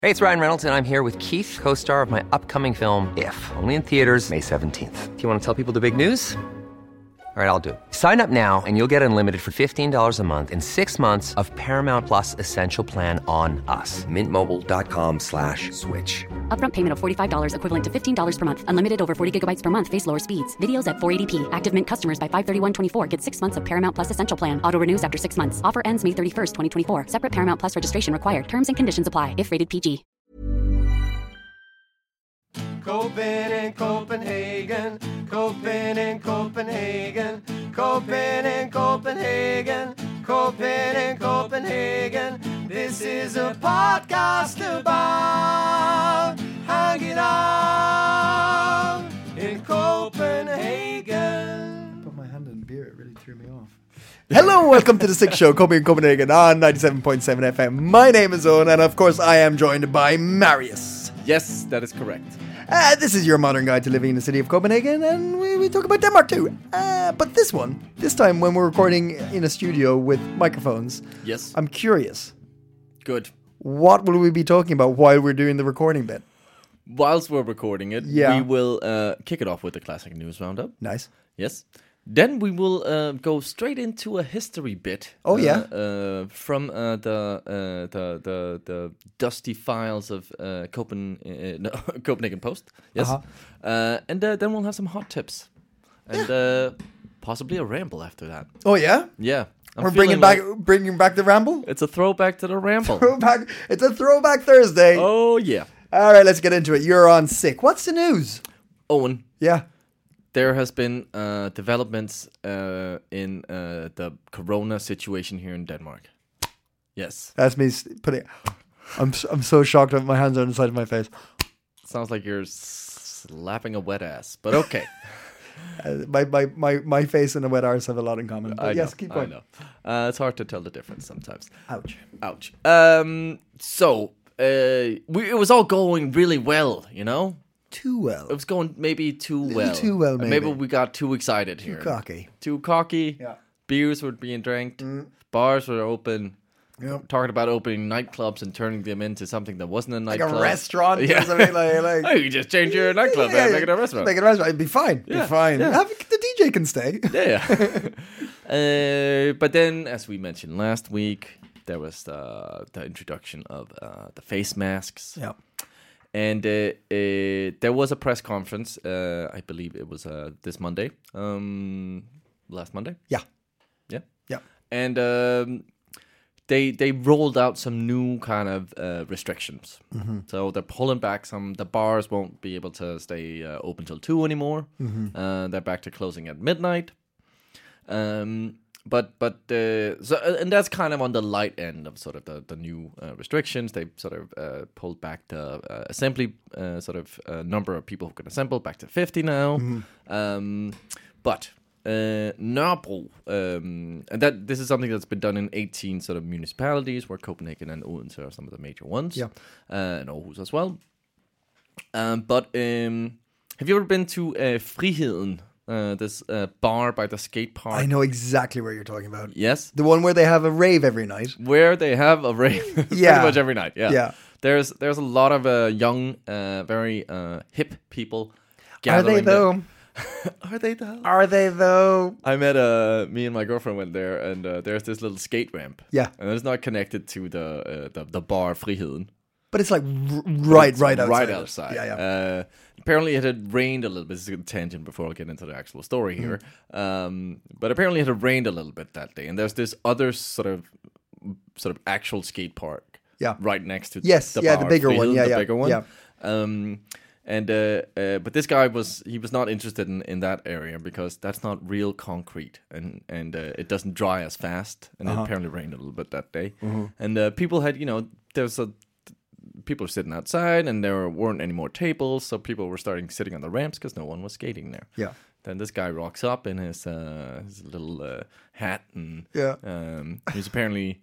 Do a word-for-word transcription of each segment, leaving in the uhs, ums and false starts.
Hey, it's Ryan Reynolds, and I'm here with Keith, co-star of my upcoming film, If, only in theaters May seventeenth. Do you want to tell people the big news? All right, I'll do it. Sign up now and you'll get unlimited for fifteen dollars a month and six months of Paramount Plus Essential Plan on us. Mint Mobile dot com slash switch. Upfront payment of forty-five dollars equivalent to fifteen dollars per month. Unlimited over forty gigabytes per month. Face lower speeds. Videos at four eighty p. Active Mint customers by five thirty-one twenty-four get six months of Paramount Plus Essential Plan. Auto renews after six months. Offer ends May thirty-first, twenty twenty-four. Separate Paramount Plus registration required. Terms and conditions apply if rated P G. Copen in Copenhagen, Copen in Copenhagen, Copen in Copenhagen, Copen in Copenhagen. This is a podcast about hanging out in Copenhagen. Put my hand in beer, it really threw me off. Hello, welcome to the Six Show, Kobe in Copenhagen on ninety-seven point seven F M. My name is Owen, and of course I am joined by Marius. Yes, that is correct. Uh, this is your modern guide to living in the city of Copenhagen, and we, we talk about Denmark too. Uh, but this one, this time when we're recording in a studio with microphones, Yes. I'm curious. Good. What will we be talking about while we're doing the recording bit? Whilst we're recording it, Yeah. we will uh, kick it off with the classic news roundup. Nice. Yes. Then we will uh, go straight into a history bit. Oh, uh, yeah? Uh, from uh, the, uh, the the the dusty files of uh, Copen uh, no, Copenhagen Post. Yes. Uh-huh. Uh, and uh, then we'll have some hot tips, and uh, possibly a ramble after that. Oh yeah, Yeah. I'm we're feeling bringing back like bringing back the ramble. it's a throwback to the ramble. Throwback. It's a throwback Thursday. Oh yeah. All right, let's get into it. You're on sick. What's the news? Owen. Yeah. There has been uh, developments uh, in uh, the corona situation here in Denmark. Yes. That's me s- putting. I'm s- I'm so shocked that my hands are on the side of my face. Sounds like you're slapping a wet ass, but okay. Uh, my, my my my face and a wet arse have a lot in common. But I yes, know, keep I going. know. Uh, it's hard to tell the difference sometimes. Ouch. Ouch. Um. So uh, we, it was all going really well, you know. Too well. It was going maybe too Little well. too well, Uh, maybe. we got too excited here. Too cocky. Too cocky. Yeah. Beers were being drank. Bars were open. Yep. Talking about opening nightclubs and turning them into something that wasn't a Like nightclub. a restaurant Yeah. or something like. like Oh, you just change your nightclub Yeah, and yeah, make it a restaurant. Make it a restaurant. It'd be fine. Yeah, Be fine. yeah. Have, the D J can stay. Yeah. uh, but then, as we mentioned last week, there was the, the introduction of uh, the face masks. Yeah. And uh, uh, there was a press conference, uh, I believe it was uh, this Monday, um, last Monday. Yeah. Yeah. Yeah. And um, they they rolled out some new kind of uh, restrictions. Mm-hmm. So they're pulling back some. The bars won't be able to stay uh, open till two anymore. Mm-hmm. Uh, they're back to closing at midnight. Um, but but uh, so and that's kind of on the light end of sort of the the new uh, restrictions. They sort of uh, pulled back the uh, assembly uh, sort of uh, number of people who can assemble back to fifty now. Um, but uh, Nørrebro, um, and that this is something that's been done in eighteen sort of municipalities, where Copenhagen and Odense are some of the major ones. Yeah. uh, and Aarhus as well. Um, but um, have you ever been to uh, Friheden? Uh, this uh, bar by the skate park. I know exactly where you're talking about. Yes, The one where they have a rave every night. where they have a rave pretty Yeah. much every night. Yeah, Yeah. There's there's a lot of uh, young, uh, very uh, hip people. Are they gathering there. though? Are they though? Are they though? I met uh me and my girlfriend went there, and uh, there's this little skate ramp. Yeah. and it's not connected to the uh, the, the bar Friheden. But it's like r- right, It's right outside. Right it. outside. Yeah, yeah. Uh, apparently, it had rained a little bit. This is a tangent before I get into the actual story here. Mm-hmm. Um, but apparently, it had rained a little bit that day, and there's this other sort of, sort of actual skate park. Yeah. Right next to Yes, the yeah, bar, the bigger one, Friheden, yeah, the yeah, bigger one. yeah. Um, and uh, uh, but this guy was he was not interested in, in that area because that's not real concrete, and and uh, it doesn't dry as fast. And Uh-huh. it apparently rained a little bit that day, Mm-hmm. and uh, people had you know there's a people were sitting outside, and there weren't any more tables, so people were starting sitting on the ramps because no one was skating there. Yeah. Then this guy rocks up in his uh, his little uh, hat, and Yeah. um, he's apparently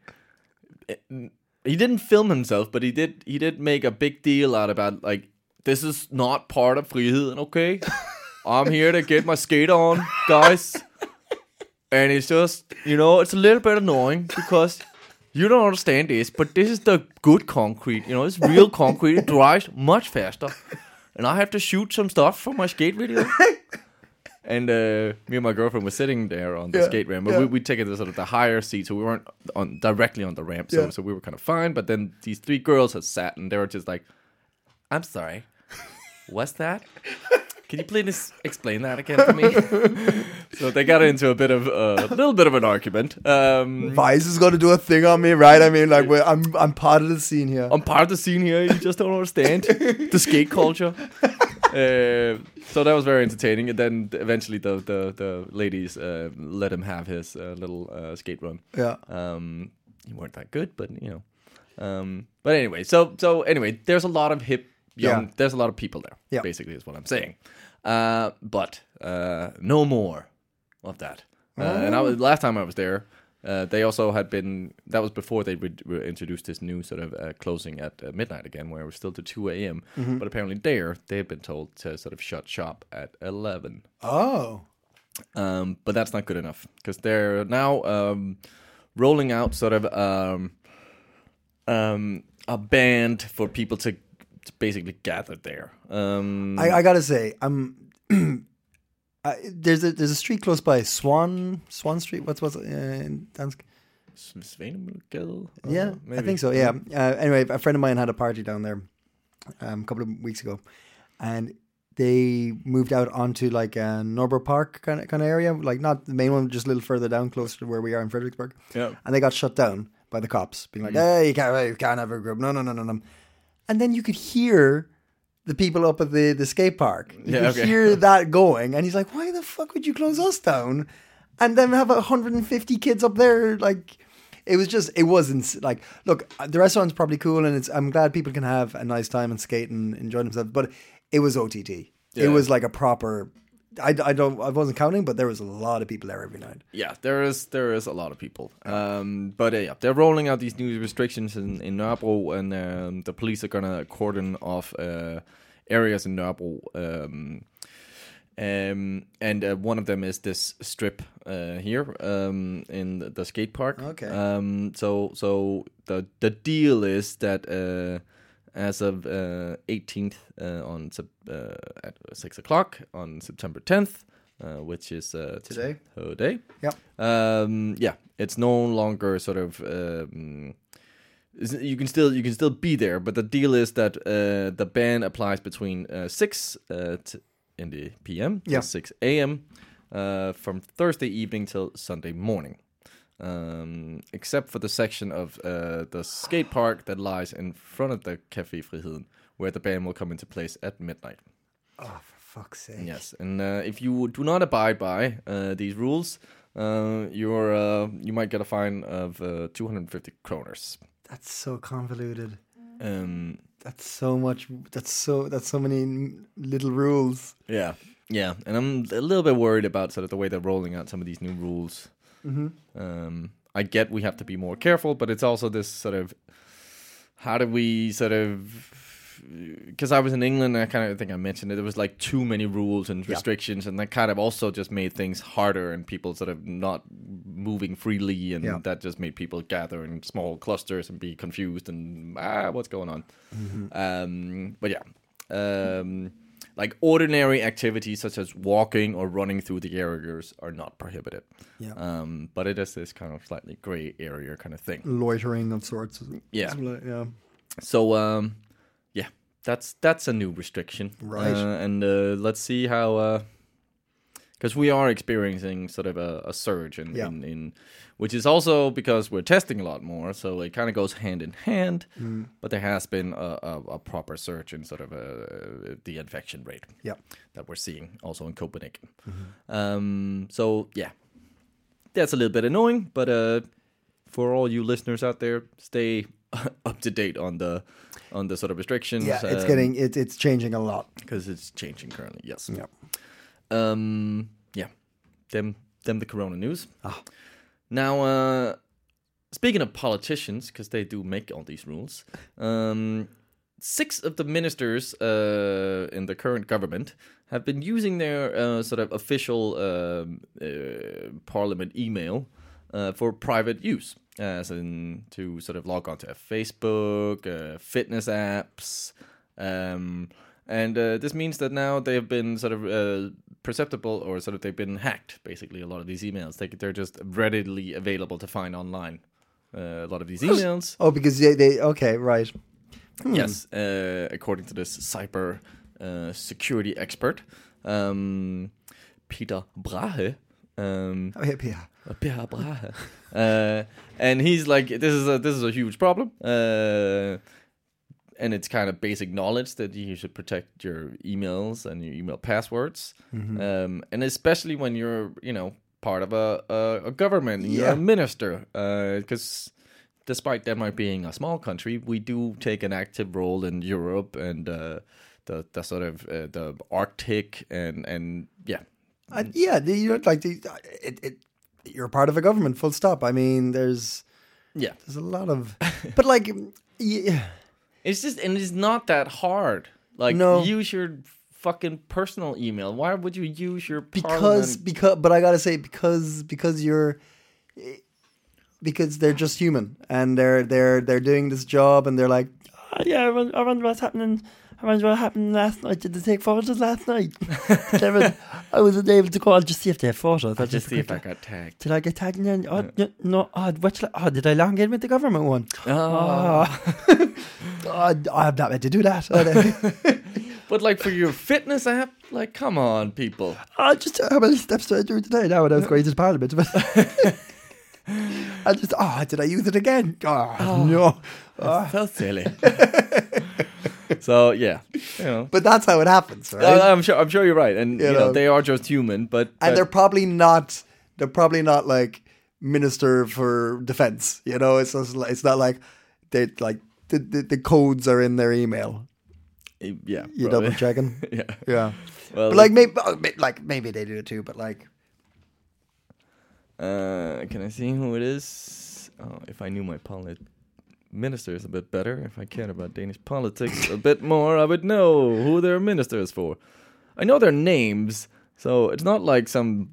he didn't film himself, but he did he did make a big deal out about like this is not part of Friheden, okay? I'm here to get my skate on, guys. And it's just, you know, it's a little bit annoying because You don't understand this, but this is the good concrete. You know, it's real concrete. It dries much faster. And I have to shoot some stuff for my skate video. And uh, me and my girlfriend were sitting there on the Yeah, skate ramp, but yeah. we we taken the sort of the higher seat, so we weren't on directly on the ramp. So Yeah. so we were kind of fine. But then these three girls had sat, and they were just like, "I'm sorry, what's that? Can you please explain that again to me?" So they got into a bit of uh, a little bit of an argument. Um, Vice is going to do a thing on me, right? I mean, like, we're, I'm I'm part of the scene here. I'm part of the scene here. You just don't understand the skate culture. Uh, so that was very entertaining. And then eventually the the, the ladies uh, let him have his uh, little uh, skate run. Yeah. Um, he weren't that good, but you know. Um, but anyway, so so anyway, there's a lot of hip young. Yeah. There's a lot of people there. Yeah. Basically, is what I'm saying. Uh, but uh, no more of that. Uh, And I was, last time I was there, uh, they also had been. That was before they re- re- introduced this new sort of uh, closing at uh, midnight again, where it was still to two a.m. Mm-hmm. But apparently there, they had been told to sort of shut shop at eleven. Oh. Um, but that's not good enough because they're now um, rolling out sort of um, um, a band for people to, to basically gather there. Um, I, I gotta say, I'm. I, there's a there's a street close by, Swan Swan Street. What's what's uh, in Dansk? Svanemøllegade? Uh, Yeah, I maybe. think so. Yeah. Uh, anyway, a friend of mine had a party down there um, a couple of weeks ago, and they moved out onto like a Norbert Park kind of kind of area, like not the main one, just a little further down, closer to where we are in Fredericksburg. Yeah. And they got shut down by the cops, being like, "Hey, you can't, you can't have a group. No, no, no, no, no." And then you could hear the people up at the, the skate park. You Yeah, could okay. hear that going, and he's like, "Why the fuck would you close us down?" And then have one hundred fifty kids up there, like. It was just, it wasn't like, look, the restaurant's probably cool, and it's. I'm glad people can have a nice time and skate and enjoy themselves. But it was O T T. It Yeah. was like a proper. I, I don't. I wasn't counting, but there was a lot of people there every night. Yeah, there is there is a lot of people. Um, but uh, yeah, they're rolling out these new restrictions in, in Nørrebro, and um, the police are gonna cordon off uh, areas in Nørrebro. Um, um, and uh, one of them is this strip uh, here um, in the, the skate park. Okay. Um, so so the the deal is that uh, as of uh, eighteenth uh, on Sep- uh, at six o'clock on September tenth, uh, which is uh, Today? Today. Yep. Um, yeah, it's no longer sort of. Um, is- you can still you can still be there, but the deal is that uh, the ban applies between uh, six uh, t- in the p m Yeah. to six a m uh, from Thursday evening till Sunday morning, um, except for the section of uh, the skate park that lies in front of the Café Friheden, where the ban will come into place at midnight. Oh, for fuck's sake! Yes, and uh, if you do not abide by uh, these rules, uh, you're uh, you might get a fine of uh, two hundred fifty kroners. That's so convoluted. Um, That's so much. That's so. That's so many n- little rules. yeah, yeah, and I'm a little bit worried about sort of the way they're rolling out some of these new rules. Mm-hmm. Um, I get we have to be more careful, but it's also this sort of how do we sort of because I was in England, and I kind of think I mentioned it. There was like too many rules and restrictions, and that kind of also just made things harder, and people sort of not moving freely, and Yeah. that just made people gather in small clusters and be confused and ah, what's going on? Um, but yeah, um, like ordinary activities such as walking or running through the areas are not prohibited. Yeah. Um, but it is this kind of slightly gray area kind of thing. Loitering of sorts. Yeah. Yeah. So um, yeah, that's that's a new restriction, Right. Uh, and uh, let's see how, because we are experiencing sort of a, a surge in, Yeah. in, in, which is also because we're testing a lot more, so it kind of goes hand in hand. Mm. But there has been a, a, a proper surge in sort of uh the infection rate Yeah. that we're seeing also in Copenhagen. Um, so yeah, that's a little bit annoying, but uh, for all you listeners out there, stay up to date on the on the sort of restrictions. Yeah. It's getting. It, it's changing a lot. because it's changing currently. Yes. Yeah. Um. Yeah. Them. Them. The Corona news. Ah. Now, uh, speaking of politicians, because they do make all these rules, um, six of the ministers uh, in the current government have been using their uh, sort of official um uh, parliament email uh, for private use, as in to sort of log on to Facebook, uh, fitness apps. Um, and uh, this means that now they've been sort of uh, perceptible, or sort of they've been hacked, basically, a lot of these emails. They, they're just readily available to find online. Uh, a lot of these emails. Oh, because they, they okay, right. Hmm. Yes, uh, according to this cyber uh, security expert, um, Peter Brahe. Um, Oh, yeah, yeah. Peter Brahe. Uh, and he's like, this is a, this is a huge problem. Uh, and it's kind of basic knowledge that you should protect your emails and your email passwords. Mm-hmm. Um, and especially when you're, you know, part of a, a, a government, you're Yeah. a minister. Because uh, despite Denmark being a small country, we do take an active role in Europe and uh, the the sort of uh, the Arctic and and yeah, Uh, yeah, the, you know, like the, it, it, you're part of a government. Full stop. I mean, there's yeah. there's a lot of, but like, yeah, It's just and it's not that hard. Like No. use your fucking personal email. Why would you use your because parliament? because. But I gotta say, because because you're. Because they're just human, and they're they're they're doing this job, and they're like, oh, yeah, I wonder, I wonder what's happening. I wonder what happened last night. Did they take photos last night? There was, I wasn't able to call just see if they have photos. I'll just see if I got tagged. Did I get tagged in? Any? Oh, no, no. Oh, which, oh, did I log in with the government one? Oh. Oh, oh I'm not meant to do that. But like for your fitness app, like come on, people. Oh, just how many steps did I do today? Now when I was going to Parliament. I just, oh, did I use it again? Oh, oh no. Oh. So silly. So yeah, you know. But that's how it happens, right? Uh, I'm sure. I'm sure you're right, and You you, know, know. they are just human. But, and but they're probably not. They're probably not like minister for defense. You know, it's just, like- it's not like they like the, the the codes are in their email. yeah, You probably. double checking. Yeah. Yeah. Well, But like maybe oh, may- like maybe they do it too. But like uh, can I see who it is? Oh, if I knew my polit ministers a bit better, if I cared about Danish politics a bit more, I would know who their minister is for. I know their names, so it's not like some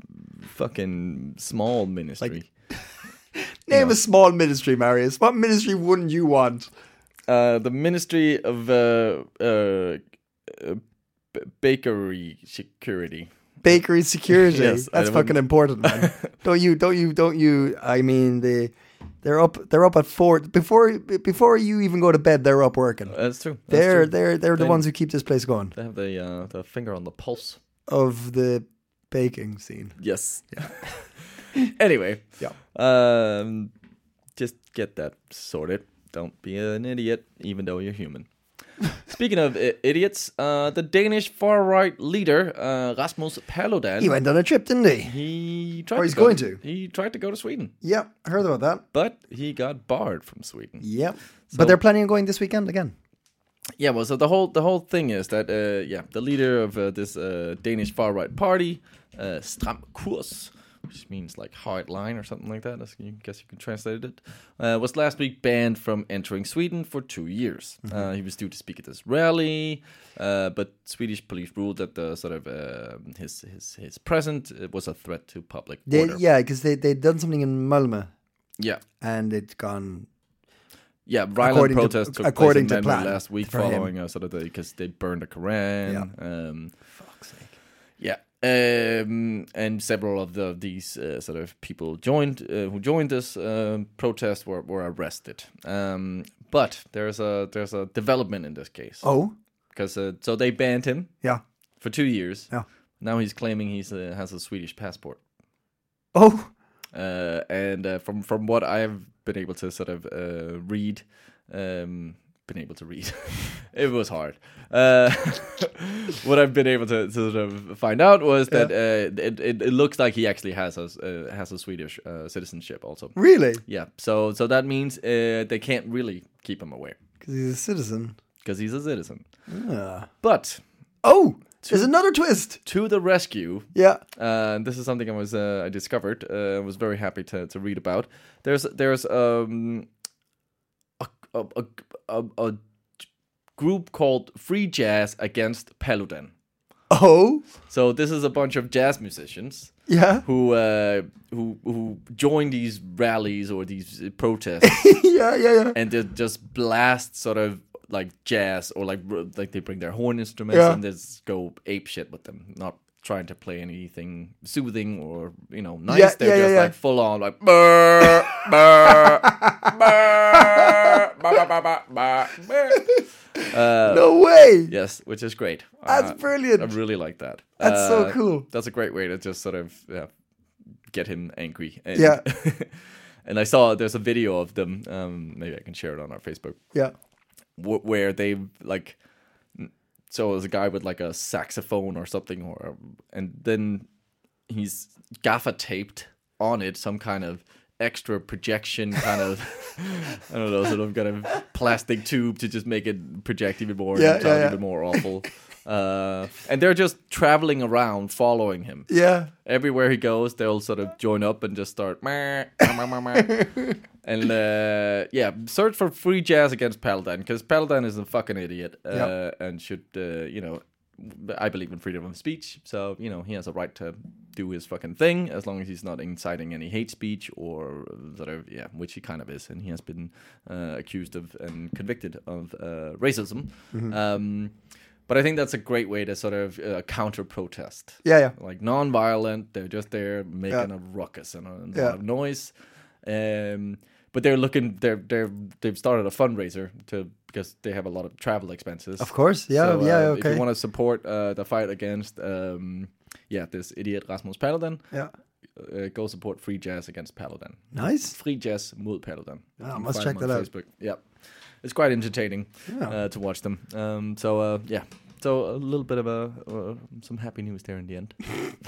fucking small ministry. Like- name No. a small ministry, Marius. What ministry wouldn't you want? Uh, the Ministry of uh, uh, uh, b- Bakery Security. Bakery security. Yes, I That's wouldn't- fucking important, man. don't you? Don't you? Don't you? I mean, they they're up. They're up at four before before you even go to bed. They're up working. That's true. That's They're true. they're they're the They- ones who keep this place going. They have the uh, the finger on the pulse. Of the baking scene. Yes. Yeah. Anyway. Yeah. Um, just get that sorted. Don't be an idiot, even though you're human. Speaking of I- idiots, uh, the Danish far-right leader, uh, Rasmus Paludan, He went on a trip, didn't he? he tried Or to he's go, going to. He tried to go to Sweden, Yeah, I heard about that. but he got barred from Sweden. Yep. So- But they're planning on going this weekend again. Yeah, well, so the whole the whole thing is that uh, yeah, the leader of uh, this uh, Danish far right party, uh, Stram Kurs, which means like hard line or something like that. I guess you can translate it. Uh, was last week banned from entering Sweden for two years. Mm-hmm. Uh, he was due to speak at this rally, uh, but Swedish police ruled that the sort of uh, his his his presence was a threat to public They, order. yeah, because they they'd done something in Malmö Yeah. and it's gone. Yeah, violent According to- protests took according place in to Malmö plan last week for him. following uh, sort of the because they burned the Quran. Yeah. Um, Fuck's sake. Yeah, um, and several of the these uh, sort of people joined uh, who joined this uh, protest were, were arrested. Um, but there's a there's a development in this case. Oh, because uh, so they banned him yeah, for two years. yeah. Now he's claiming he's uh, has a Swedish passport. Oh, Uh, and uh, from from what I've been able to sort of uh, read, um, been able to read, it was hard. Uh, what I've been able to, to sort of find out was that uh, it, it it looks like he actually has a uh, has a Swedish uh, citizenship also. really? Yeah, so so that means uh, they can't really keep him away Because he's a citizen. because he's a citizen. Ah. But Oh, there's another twist. to the rescue. Yeah. Uh, this is something I was uh, I discovered. Uh, I was very happy to, to read about. There's there's um a a, a, a, a group called Free Jazz Against Paludan. Oh, So this is a bunch of jazz musicians yeah, who uh, who who join these rallies or these uh, protests, yeah, yeah, yeah. and they just blast sort of like jazz or like r- like they bring their horn instruments Yeah. and just go ape shit with them, not trying to play anything soothing or you know nice. Yeah, They're yeah, just yeah, yeah. like full on like burr, burr, burr, ba, ba, ba, ba, ba, burr. No way. Yes, which is great. That's Uh, brilliant. I really like that. That's so Uh, cool. That's a great way to just sort of yeah, get him angry. And, Yeah. and I saw there's a video of them. Um, maybe I can share it on our Facebook Yeah. wh- where they like. So there's a guy with like a saxophone or something, or and then he's gaffer taped on it some kind of extra projection kind of I don't know, sort of kind of plastic tube to just make it project even more Yeah, and sound yeah, yeah. even more awful. Uh, and they're just traveling around, following him. Yeah. Everywhere he goes, they'll sort of join up and just start. Meh, meh, meh, meh. And uh, yeah, search for free jazz against Paludan because Paludan is a fucking idiot uh, Yep. and should, uh, you know, I believe in freedom of speech. So, you know, he has a right to do his fucking thing as long as he's not inciting any hate speech or sort of, yeah, which he kind of is. And he has been uh, accused of and convicted of uh, racism. Um, but I think that's a great way to sort of uh, counter protest. Yeah, yeah. Like non-violent, they're just there making Yeah. a ruckus and a, and a Yeah. lot of noise. Um, but they're looking, they're they're they've started a fundraiser to because they have a lot of travel expenses. Of course. Yeah. So, uh, yeah. If Okay. you want to support uh, the fight against, um, yeah, this idiot Rasmus Paludan, Yeah. uh, go support Free Jazz against Paludan. Nice. Free Jazz mod Paludan. You Oh, can must find check them on that out. Facebook. Yeah, it's quite entertaining Yeah. uh, to watch them. Um, so uh, yeah, so a little bit of a uh, some happy news there in the end.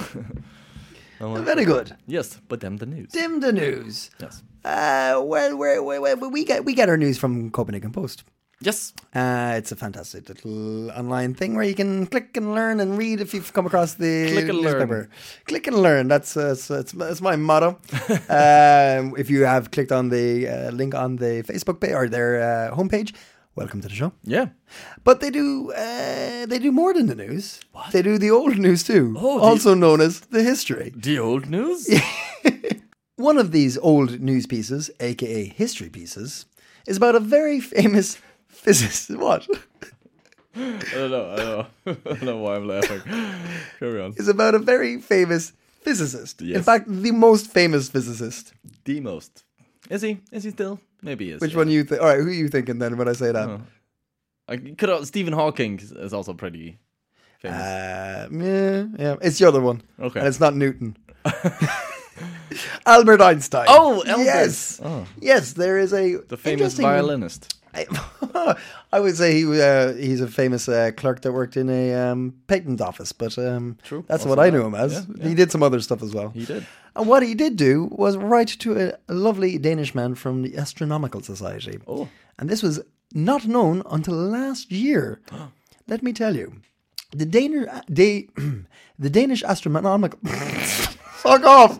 I'm like, Very good. yes, but then the news. Dim the news. Yes. Uh, well, where, where, where, we get we get our news from Copenhagen Post. Yes. Uh, it's a fantastic little online thing where you can click and learn and read if you've come across the Click and learn. newspaper. Click and learn. That's uh, it's, it's, it's my motto. um, if you have clicked on the uh, link on the Facebook page or their uh, homepage, welcome to the show. Yeah. But they do uh, they do more than the news. What? They do the old news too, Oh, the- also known as the history. The old news. One of these old news pieces, aka history pieces, is about a very famous physicist. What? I don't know. I don't know. I don't know why I'm laughing. Carry on. Is about a very famous physicist. In Yes. fact, the most famous physicist. The most. Is he? Is he still? Maybe he is. Which yeah. one you think? All right, who are you thinking then when I say that? Oh. I could. Stephen Hawking is also pretty famous. Uh, yeah, yeah, it's the other one. Okay. And it's not Newton. Albert Einstein. Oh, Albert. Yes. Oh. Yes, there is a The famous interesting- violinist. I, I would say he uh, he's a famous uh, clerk that worked in a um, patent office, but um, True. that's Also what I that. knew him as. Yeah, yeah. He did some other stuff as well. He did. And what he did do was write to a, a lovely Danish man from the Astronomical Society. Oh. And this was not known until last year. Let me tell you. The Danish, they, the Danish Astronomical... Fuck off!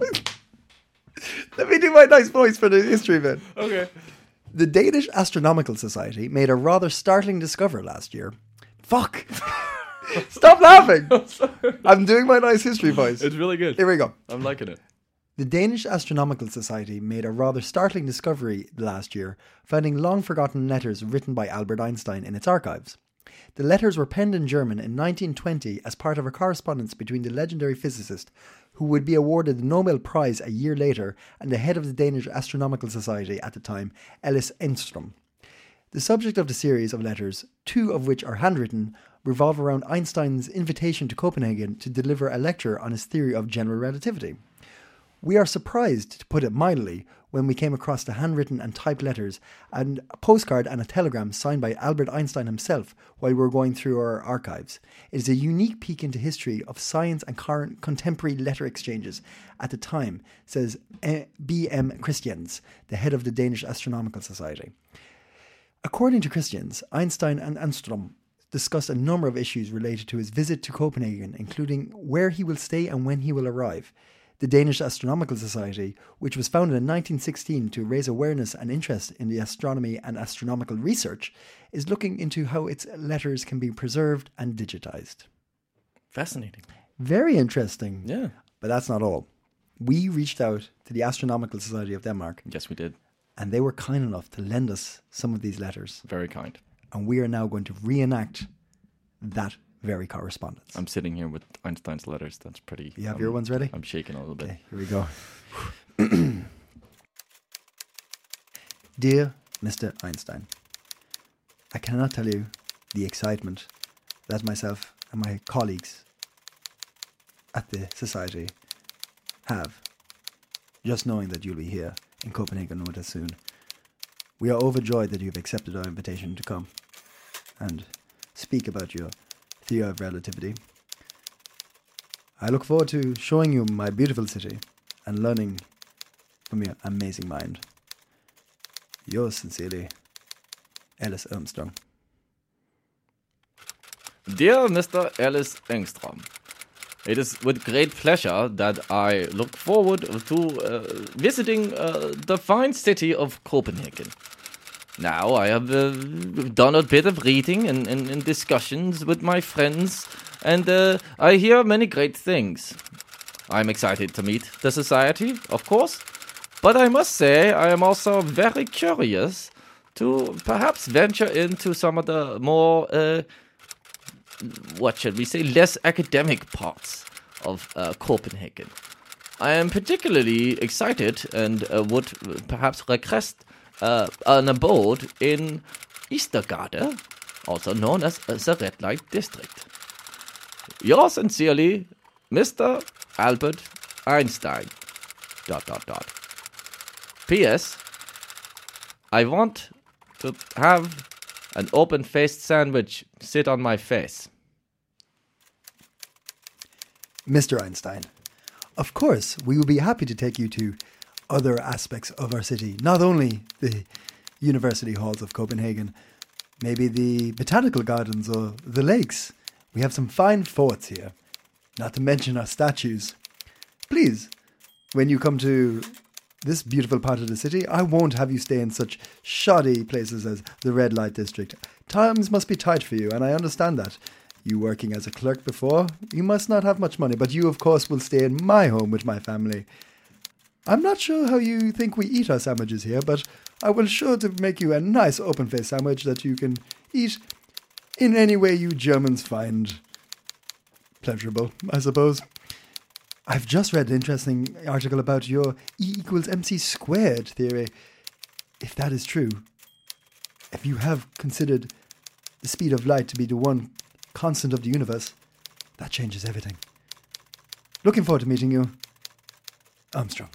Let me do my nice voice for the history bit. Okay. The Danish Astronomical Society made a rather startling discovery last year. Fuck! Stop laughing! I'm doing my nice history voice. It's really good. Here we go. I'm liking it. The Danish Astronomical Society made a rather startling discovery last year, finding long-forgotten letters written by Albert Einstein in its archives. The letters were penned in German in nineteen twenty as part of a correspondence between the legendary physicist, who would be awarded the Nobel Prize a year later, and the head of the Danish Astronomical Society at the time, Ellis Enström. The subject of the series of letters, two of which are handwritten, revolve around Einstein's invitation to Copenhagen to deliver a lecture on his theory of general relativity. We are surprised, to put it mildly, when we came across the handwritten and typed letters and a postcard and a telegram signed by Albert Einstein himself while we were going through our archives. It is a unique peek into history of science and current contemporary letter exchanges at the time, says B M Christians, the head of the Danish Astronomical Society. According to Christians, Einstein and Enström discussed a number of issues related to his visit to Copenhagen, including where he will stay and when he will arrive. The Danish Astronomical Society, which was founded in nineteen sixteen to raise awareness and interest in the astronomy and astronomical research, is looking into how its letters can be preserved and digitized. Fascinating. Very interesting. Yeah. But that's not all. We reached out to the Astronomical Society of Denmark, Yes, we did. and they were kind enough to lend us some of these letters. Very kind. And we are now going to reenact that very correspondence. I'm sitting here with Einstein's letters. That's pretty... You have um, your ones ready? I'm shaking a little bit. Okay, here we go. Dear Mister Einstein, I cannot tell you the excitement that myself and my colleagues at the Society have just knowing that you'll be here in Copenhagen with us soon. We are overjoyed that you've accepted our invitation to come and speak about your theory of relativity. I look forward to showing you my beautiful city and learning from your amazing mind. Yours sincerely, Alice Armstrong. Dear Mister Alice Engstrom, it is with great pleasure that I look forward to uh, visiting uh, the fine city of Copenhagen. Now, I have uh, done a bit of reading and, and, and discussions with my friends, and uh, I hear many great things. I'm excited to meet the society, of course, but I must say I am also very curious to perhaps venture into some of the more, uh, what should we say, less academic parts of uh, Copenhagen. I am particularly excited and uh, would perhaps request uh, an abode in Istergade, also known as uh, the Red Light District. Yours sincerely, Mister Albert Einstein. Dot dot dot. P S. I want to have an open-faced sandwich sit on my face. Mister Einstein, of course, we will be happy to take you to other aspects of our city, not only the university halls of Copenhagen, maybe the botanical gardens or the lakes. We have some fine forts here, not to mention our statues. Please, when you come to this beautiful part of the city, I won't have you stay in such shoddy places as the Red Light District. Times must be tight for you, and I understand that. You working as a clerk before, you must not have much money, but you, of course, will stay in my home with my family. I'm not sure how you think we eat our sandwiches here, but I will sure to make you a nice open-faced sandwich that you can eat in any way you Germans find pleasurable, I suppose. I've just read an interesting article about your E equals mc squared theory. If that is true, if you have considered the speed of light to be the one constant of the universe, that changes everything. Looking forward to meeting you, Armstrong.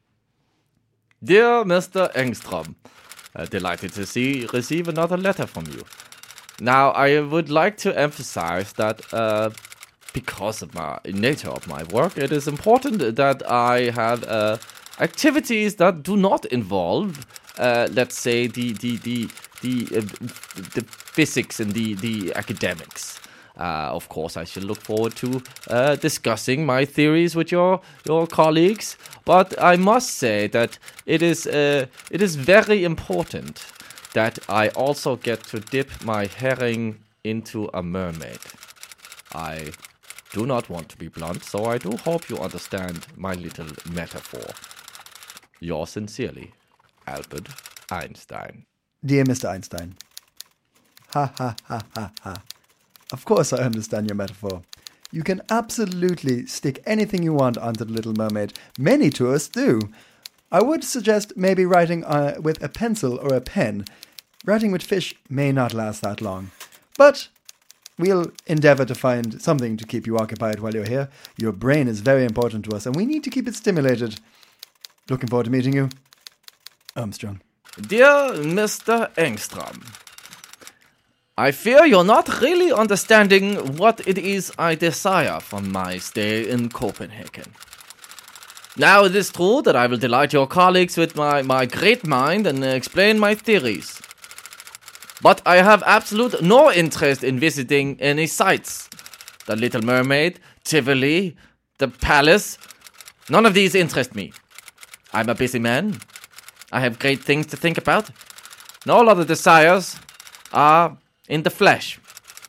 Dear Mister Engstrom, uh, delighted to see receive another letter from you. Now, I would like to emphasize that uh, because of my nature of my work, it is important that I have uh, activities that do not involve, uh, let's say, the the the the, uh, the physics and the the academics. Uh, of course, I should look forward to uh, discussing my theories with your your colleagues. But I must say that it is uh, it is very important that I also get to dip my herring into a mermaid. I do not want to be blunt, so I do hope you understand my little metaphor. Yours sincerely, Albert Einstein. Dear Mister Einstein. Ha ha ha ha ha. Of course I understand your metaphor. You can absolutely stick anything you want onto the Little Mermaid. Many tourists do. I would suggest maybe writing uh, with a pencil or a pen. Writing with fish may not last that long. But we'll endeavour to find something to keep you occupied while you're here. Your brain is very important to us, and we need to keep it stimulated. Looking forward to meeting you, Armstrong. Dear Mister Engstrom, I fear you're not really understanding what it is I desire from my stay in Copenhagen. Now, it is true that I will delight your colleagues with my, my great mind and explain my theories. But I have absolute no interest in visiting any sites. The Little Mermaid, Tivoli, the Palace, none of these interest me. I'm a busy man. I have great things to think about. And all other desires are in the flesh.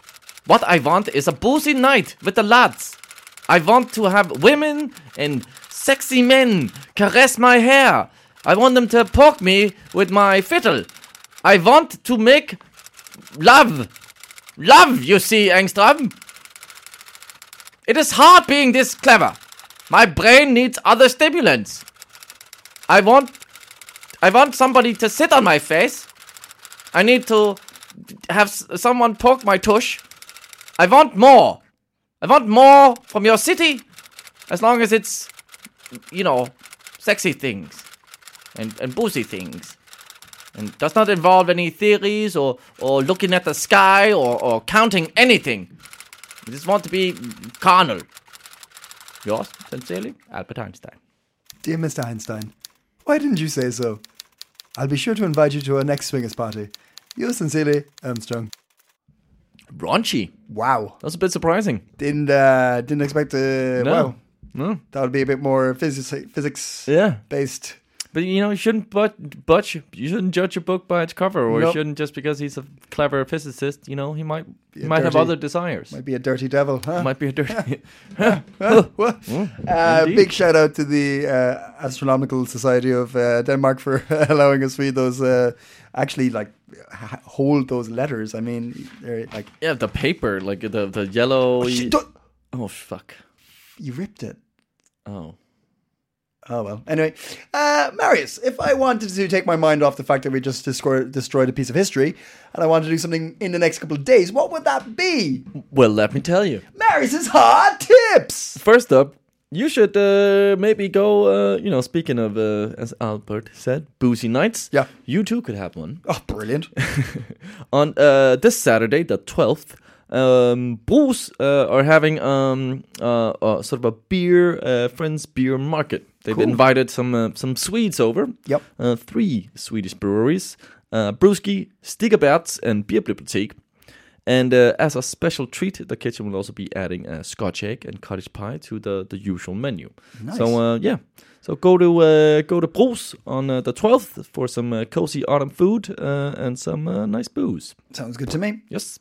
What I want is a boozy night with the lads. I want to have women and sexy men caress my hair. I want them to poke me with my fiddle. I want to make love. Love, you see, Engström. It is hard being this clever. My brain needs other stimulants. I want... I want somebody to sit on my face. I need to have s- someone poke my tush. I want more. I want more from your city. As long as it's, you know, sexy things. And, and boozy things. And does not involve any theories or, or looking at the sky or, or counting anything. I just want to be carnal. Yours, sincerely, Albert Einstein. Dear Mister Einstein, why didn't you say so? I'll be sure to invite you to our next swingers party. Yours sincerely, Armstrong. Raunchy. Wow. That's a bit surprising. Didn't uh, didn't expect to. No. Wow. No. That would be a bit more physics physics Yeah. based. But you know, you shouldn't but but you shouldn't judge a book by its cover, or you Nope. shouldn't just because he's a clever physicist. You know, he might he a might have dirty- other desires. Might be a dirty devil, huh? Might be a dirty. What? Uh, indeed. big shout out to the uh, Astronomical Society of uh, Denmark for allowing us to read those. Uh, actually, like h- hold those letters. I mean, they're like Yeah, the paper, like the the yellow. oh, shit, don't- oh fuck. you ripped it. Oh. Oh well. Anyway, uh, Marius, if I wanted to take my mind off the fact that we just destroy, destroyed a piece of history, and I wanted to do something in the next couple of days, what would that be? Well, let me tell you. Marius's hot tips. First up, you should uh, maybe go. Uh, you know, speaking of, uh, as Albert said, boozy nights. Yeah. You too could have one. Oh, brilliant. On uh, this Saturday, the twelfth, um, Bruce uh, are having um, uh, uh, sort of a beer, uh, friends beer market. They've Cool. invited some uh, some Swedes over. Yep. Uh, three Swedish breweries, uh, Bruski, Stigerberts, and Bierbibliotek. And uh, as a special treat, the kitchen will also be adding a Scotch egg and cottage pie to the, the usual menu. Nice. So uh, yeah, so go to uh, go to Bruce on uh, the twelfth for some uh, cozy autumn food uh, and some uh, nice booze. Sounds good to me. Yes,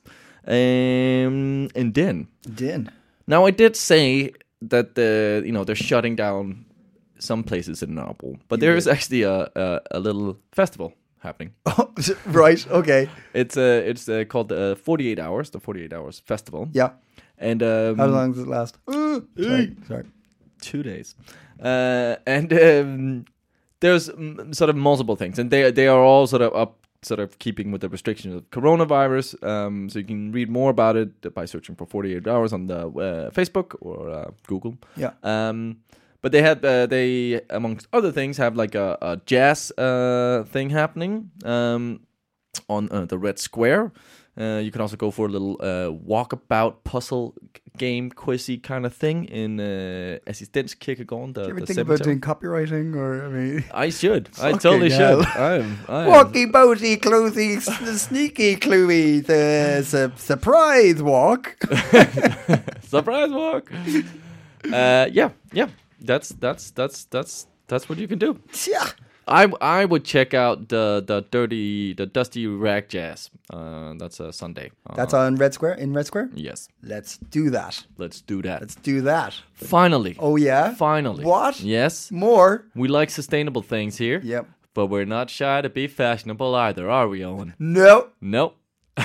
um, and then Din. now I did say that the you know they're shutting down some places in Nørrebro, but there is actually a, a a little festival happening. Oh, right. Okay. It's uh it's uh, called the uh, forty-eight hours, the forty-eight hours festival. Yeah. And um, How long does it last? Uh, sorry. Sorry. two days. Uh, and um, there's mm, sort of multiple things, and they they are all sort of up, sort of keeping with the restrictions of coronavirus. Um, so you can read more about it by searching for forty-eight hours on the uh, Facebook or uh, Google. Yeah. Um, but they had uh, they amongst other things have like a, a jazz uh, thing happening um, on uh, the Red Square. Uh, you can also go for a little uh, walkabout puzzle game quizzy kind of thing in uh, Assistenskirkegården, the, Do you ever the think cemetery. about doing copywriting, or I mean, I should. I Fucking totally hell. should. I'm, I'm walky boaty, clothy, s- sneaky, cluey, the su- surprise walk. surprise walk. Uh, yeah, yeah. That's that's that's that's that's what you can do. Yeah. I I would check out the the dirty the dusty rag jazz. Uh, that's a Sunday. Uh, That's on Red Square. In Red Square. yes. Let's do that. Let's do that. Let's do that. Finally. Oh yeah. Finally. What? Yes. More. We like sustainable things here. Yep. But we're not shy to be fashionable either, are we, Owen? No. Nope.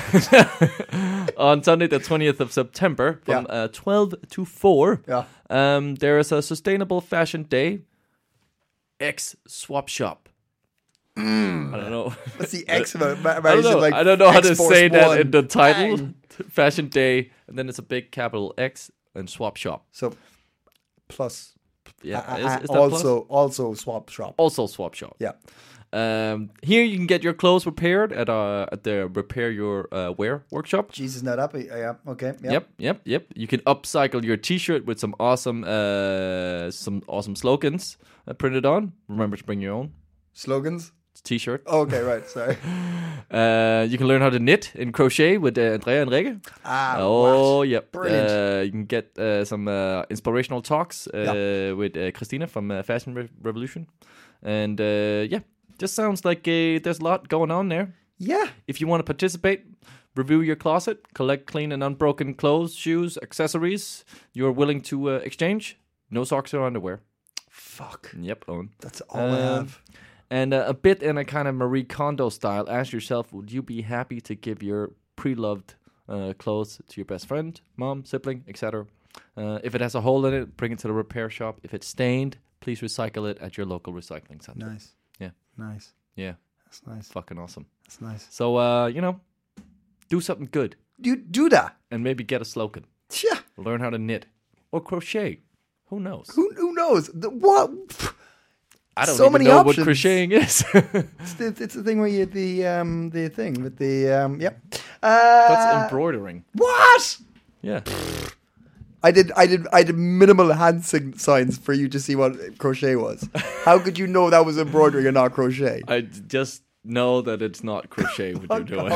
On Sunday, the twentieth of September, from Yeah. uh, twelve to four, Yeah. um, there is a sustainable fashion day. X Swap Shop. I don't know. What's the X about? Ma- I don't Marius know. is like I don't know how to X-Force say that One. in the title. Bang. Fashion day, and then it's a big capital X and Swap Shop. So plus. Yeah, Uh, is, uh, is that plus? also also swap shop. Also Swap Shop. Yeah. Um, here you can get your clothes repaired at uh at the Repair Your uh, Wear workshop. Jesus, not up. Yeah. Okay. Yep. Yep, yep, yep. You can upcycle your T-shirt with some awesome uh some awesome slogans uh, printed on. Remember to bring your own Slogans. T-shirt. Okay. Right. Sorry. Uh, you can learn how to knit and crochet with uh, Andrea and Rikke. Ah. Oh, what? yep. Brilliant. Uh, you can get uh, some uh, inspirational talks uh, Yeah. with uh, Christina from uh, Fashion Re- Revolution. And uh, yeah, just sounds like uh, there's a lot going on there. Yeah. If you want to participate, review your closet, collect clean and unbroken clothes, shoes, accessories you're willing to uh, exchange. No socks or underwear. Fuck. Yep, Owen. That's all I Um, have. And uh, a bit in a kind of Marie Kondo style, ask yourself, would you be happy to give your pre-loved uh, clothes to your best friend, mom, sibling, et cetera? Uh, if it has a hole in it, bring it to the repair shop. If it's stained, please recycle it at your local recycling center. Nice. Yeah. Nice. Yeah. That's nice. Fucking awesome. That's nice. So, uh, you know, do something good You do that. and maybe get a slogan. Yeah. Learn how to knit or crochet. Who knows? Who who knows? The, what? I don't so even many know options. what crocheting is. It's the, it's the thing where you the um the thing with the um yeah. Uh, That's embroidering. What? Yeah. I did I did I did minimal hand sig- signs for you to see what crochet was. How could you know that was embroidery and not crochet? I d- just know that it's not crochet what you're doing.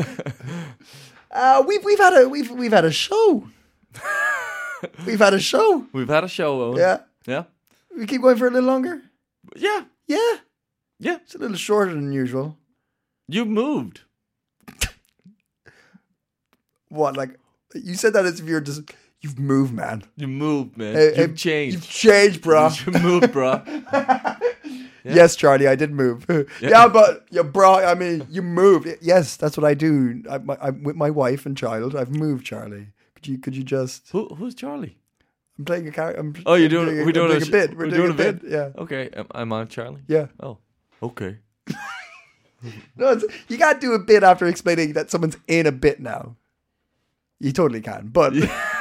uh, we've we've had a we've we've had a show. We've had a show. We've had a show, Owen. Yeah. Yeah. We keep going for a little longer. Yeah. Yeah. Yeah. It's a little shorter than usual. You moved. What, like, you said that as if you're just, you've moved, man. You moved, man. Hey, You've hey, changed. You've changed, bro. You moved, bro. Yes, Charlie, I did move. yeah. but, yeah, bro, I mean, you moved. Yes, that's what I do. I, my, I'm with my wife and child. I've moved, Charlie. Could you, could you just, Who, who's Charlie? I'm playing a character. I'm, Oh, you're I'm doing, a, we're doing, I'm a, a sh- bit. We're, we're doing, doing a bit. Yeah. Okay, am, am I Charlie? Yeah. Oh, okay. No, it's, you can't do a bit after explaining that someone's in a bit now. You totally can, but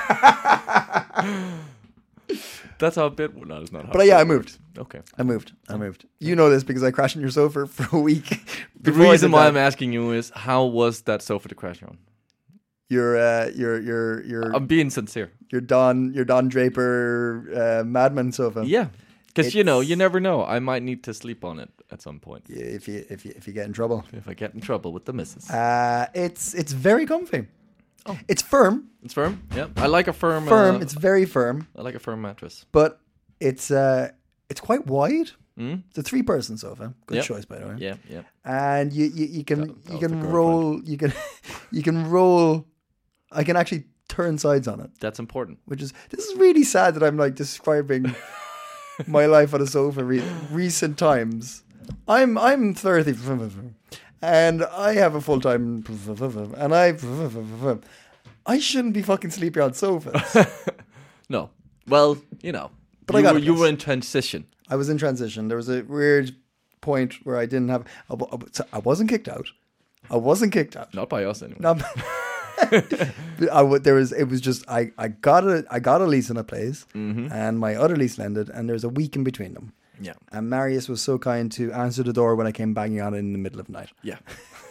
That's how a bit. Well, no, it's not how. but a yeah, bit I moved. works. Okay. I moved. I moved. You know this because I crashed on your sofa for a week. The before I reason did why that. I'm asking you is, how was that sofa to crash on? You're uh, you're you're you're I'm being sincere. you're Don you're Don Draper uh, Madman sofa. Yeah, because you know, It's- you never know. I might need to sleep on it at some point Yeah, if you if you if you get in trouble. if I get in trouble with the missus. Uh, it's it's very comfy. Oh. It's firm, It's firm. Yeah, I like a firm. firm. Uh, It's very firm, I like a firm mattress. but it's uh it's quite wide. Mm? It's a three person sofa. Good Yep. choice, by the way. Yeah, yeah. And you you, you can That- that you was can the girlfriend. roll you can you can roll. I can actually turn sides on it, That's important. which is this is really sad that I'm like describing my life on a sofa re- recent times. I'm I'm thirty and I have a full time and I I shouldn't be fucking sleeping on sofas. No, well, you know, But I you, got were, it, you yes. were in transition. I was in transition. There was a weird point where I didn't have. I, wa- I wasn't kicked out. I wasn't kicked out. Not by us anyway. No, I w- there was. It was just I. I got a. I got a lease on a place, and my other lease ended, and there's a week in between them. Yeah, And Marius was so kind to answer the door when I came banging on it in the middle of the night. yeah.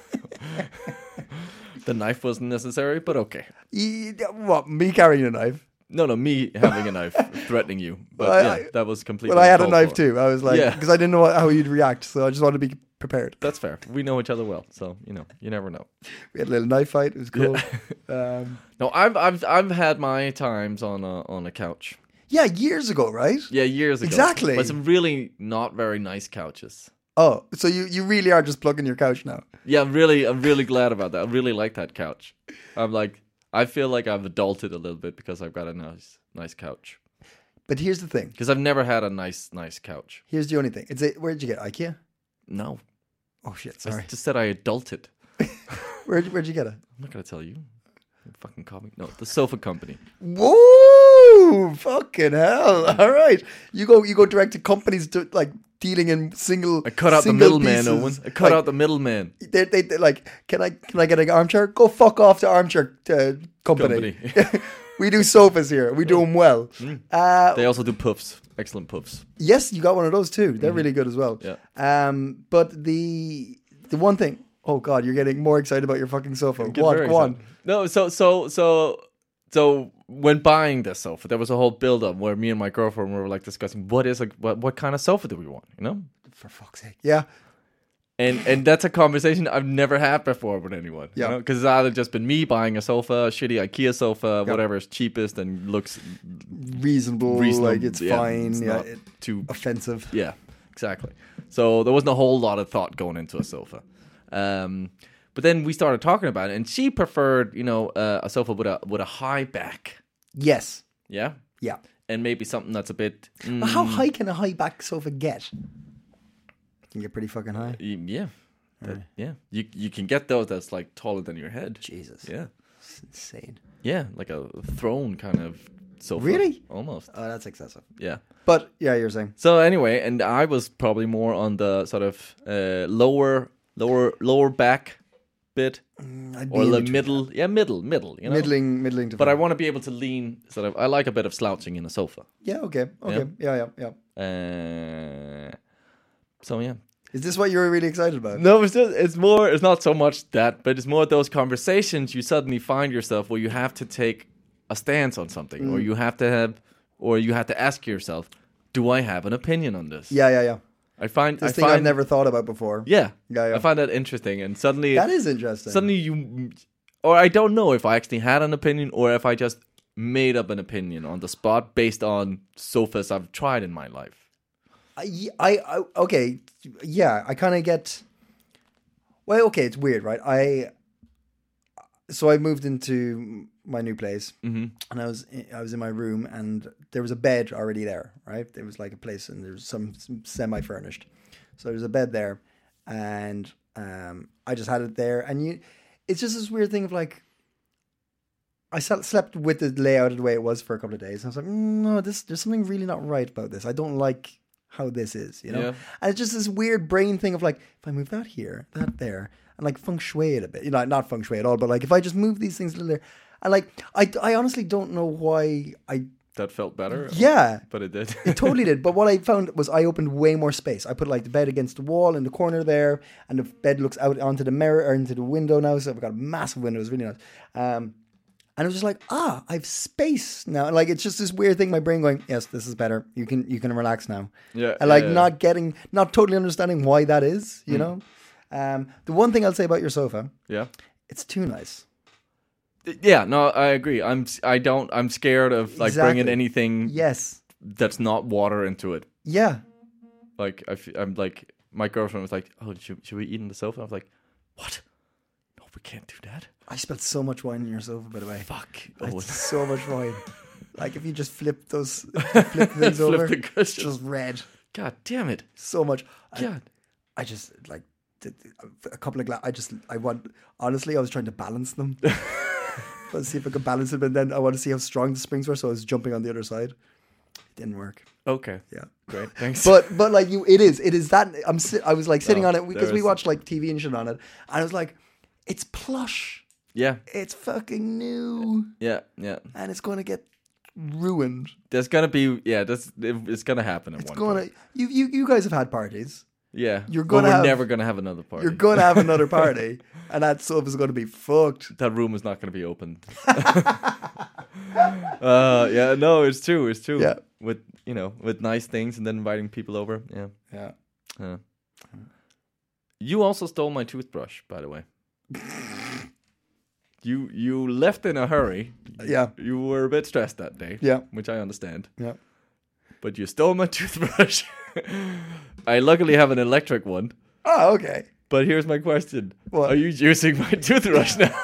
The knife wasn't necessary, but okay. He, what? Me carrying a knife? No, no, me having a knife threatening you. But Well, I- yeah, I- that was completely. Well, I had a uncalled knife for. too. I was like, Yeah. because I didn't know what, how you'd react, so I just wanted to be prepared. That's fair. We know each other well, so you know, you never know. We had a little knife fight. It was cool. um, No, I've I've I've had my times on a on a couch. yeah, years ago, right? Yeah, years ago. Exactly. But some really not very nice couches. Oh, so you, you really are just plugging your couch now? Yeah, I'm really I'm really glad about that. I really like that couch. I'm like I feel like I've adulted a little bit because I've got a nice nice couch. But here's the thing. Because I've never had a nice nice couch. Here's the only thing. It's a, where'd you get IKEA? No. Oh shit, I sorry. just said I adulted. Where'd where'd you get it? I'm not gonna tell you. You fucking call me. No, the sofa company. Whoa! Fucking hell! All right, you go you go direct to companies to like dealing in single. I cut out the single middleman, pieces. Owen. I cut Like, out the middleman. They, they, they like, can I can I get an armchair? Go fuck off to armchair uh, company. Company. We do sofas here. We do them well. Uh, They also do puffs. Excellent puffs. yes, you got one of those too. They're really good as well. Yeah. Um, but the the one thing. Oh God, you're getting more excited about your fucking sofa. Get Go on, very go on. excited. No, so so so so when buying this sofa, there was a whole build up where me and my girlfriend were like discussing what is a what, what kind of sofa do we want, you know? For fuck's sake. Yeah. And and that's a conversation I've never had before with anyone. Yeah. You know? Because it's either just been me buying a sofa, a shitty IKEA sofa, whatever is cheapest and looks Reasonable, reasonable. like it's yeah, fine. it's yeah, not it- too offensive. Yeah, exactly. So there wasn't a whole lot of thought going into a sofa. Um, But then we started talking about it, and she preferred, you know, uh, a sofa with a with a high back. Yes. Yeah, Yeah. and maybe something that's a bit. Mm, But how high can a high back sofa get? Can get pretty fucking high. y- yeah, that- yeah. You you can get those that's like taller than your head. Jesus. Yeah, It's insane. yeah, like a throne kind of sofa. Really? Almost. Oh, that's excessive. Yeah. But yeah, you're saying. So anyway, and I was probably more on the sort of uh, lower, lower, lower back bit, I'd be or in the between middle. Yeah, middle, middle. You know, Middling, middling to But I front. want to be able to lean. Sort of. I like a bit of slouching in a sofa. Yeah, okay. Okay. Yeah, yeah, yeah. Uh, so yeah. Is this what you were really excited about? No, it's just, it's more. It's not so much that, but it's more those conversations you suddenly find yourself where you have to take a stance on something, Mm. or you have to have, or you have to ask yourself, do I have an opinion on this? Yeah, yeah, yeah. I find This I thing find, I've never thought about before. Yeah, Yeah, yeah. I find that interesting, and suddenly That is interesting. suddenly you, or I don't know if I actually had an opinion or if I just made up an opinion on the spot based on sofas I've tried in my life. I, I, I okay, yeah, I kind of get. Well, okay, it's weird, right? I. So I moved into my new place, mm-hmm. and I was I was in my room, and there was a bed already there, right? There was like a place, and there was some, some semi-furnished, so there's a bed there, and um, I just had it there, and you, it's just this weird thing of like. I slept with the layout the way it was for a couple of days, and I was like, mm, no, this there's something really not right about this. I don't like how this is, you know? Yeah. And it's just this weird brain thing of like, if I move that here, that there, and like feng shui it a bit, you know, not feng shui at all, but like if I just move these things a little there, and like, I, I honestly don't know why I, That felt better. yeah. But it did. It totally did. But what I found was I opened way more space. I put like the bed against the wall in the corner there, and the bed looks out onto the mirror or into the window now. So I've got a massive window. It's really nice. Um, and it was just like, ah, I have space now. And like, it's just this weird thing, my brain going, yes, this is better. You can, you can relax now. Yeah, And like yeah, yeah. not getting, not totally understanding why that is, you know? Um, the one thing I'll say about your sofa, Yeah. it's too nice. Yeah, no, I agree. I'm I don't I'm scared of like Exactly. bringing anything Yes. that's not water into it. Yeah. Like I f- I'm like my girlfriend was like, "Oh, should, should we eat on the sofa?" I was like, "What? No, we can't do that." I spilled so much wine in your sofa, by the way. Fuck. It's Oh, so much wine. Like if you just flip those, flip things Flip over, the it's cushions. just red. God damn it. So much. I, God. I just like did a couple of gla- I just I want honestly I was trying to balance them. Let's see if I could balance it, but then I want to see how strong the springs were, so I was jumping on the other side. It didn't work. Okay. Yeah. Great. Thanks. But but like you, it is it is that I'm si- I was like sitting No, on it because there we is- watched like T V and shit on it, and I was like, it's plush, yeah. it's fucking new, Yeah. Yeah. and it's going to get ruined. There's gonna be yeah. That's it's gonna happen at It's one going point. to you you you guys have had parties. Yeah. you're But gonna we're have- never gonna have another party. You're going to have another party, and that sofa's going to be fucked. That room is not gonna be opened. uh. Yeah. No. It's true. It's true. Yeah. With you know with nice things and then inviting people over. Yeah. Yeah. Yeah. You also stole my toothbrush, by the way. you you left in a hurry. Yeah. You were a bit stressed that day. Yeah. Which I understand. Yeah. But you stole my toothbrush. I luckily have an electric one. Oh, okay. But here's my question. What? Are you using my toothbrush now?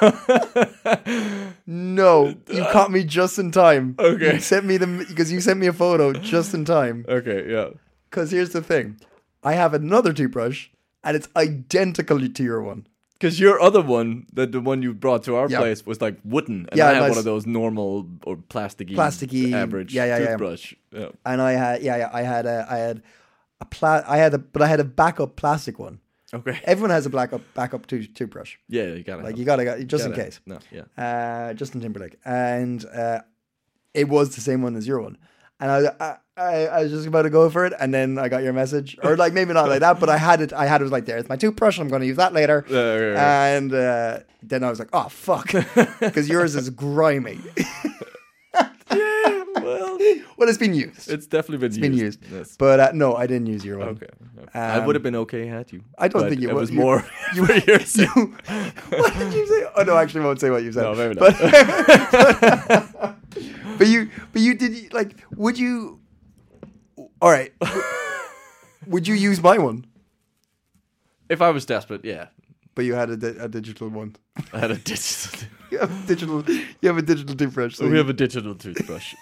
No, you caught me just in time. Okay. You sent me the because you sent me a photo just in time. Okay, yeah. Because here's the thing, I have another toothbrush, and it's identical to your one. Because your other one, the, the one you brought to our Yeah. place, was like wooden. And Yeah, I have nice. one of those normal or plasticky, Plasticky, average yeah, yeah, yeah. toothbrush. Yeah. And I had, yeah, yeah, I had a, I had a pla- I had a, but I had a backup plastic one. Okay. Everyone has a backup, backup tooth toothbrush. Yeah, you gotta Like have- you gotta, got just in gotta- case. No, yeah. Uh, Justin Timberlake, and uh, it was the same one as your one. And I, I, I, I was just about to go for it, and then I got your message, or like maybe not like that, but I had it. I had it like there. It's my toothbrush. I'm going to use that later. Yeah, yeah, yeah. And uh, then I was like, oh fuck, because yours is grimy. Yeah, well, Well, it's been used. it's definitely been It's used. been used. Yes. But uh, no, I didn't use your one. Okay. I would have been okay had you. I don't But think you it would. was You- more You, for yours. you, what did you say? Oh no, actually, I won't say what you said. No, maybe not. But, but you, but you did you, like? Would you? All right. w- would you use my one? If I was desperate, yeah. but you had a, di- a digital one. I had a digital. You have a digital. You have a digital toothbrush. So we you- have a digital toothbrush.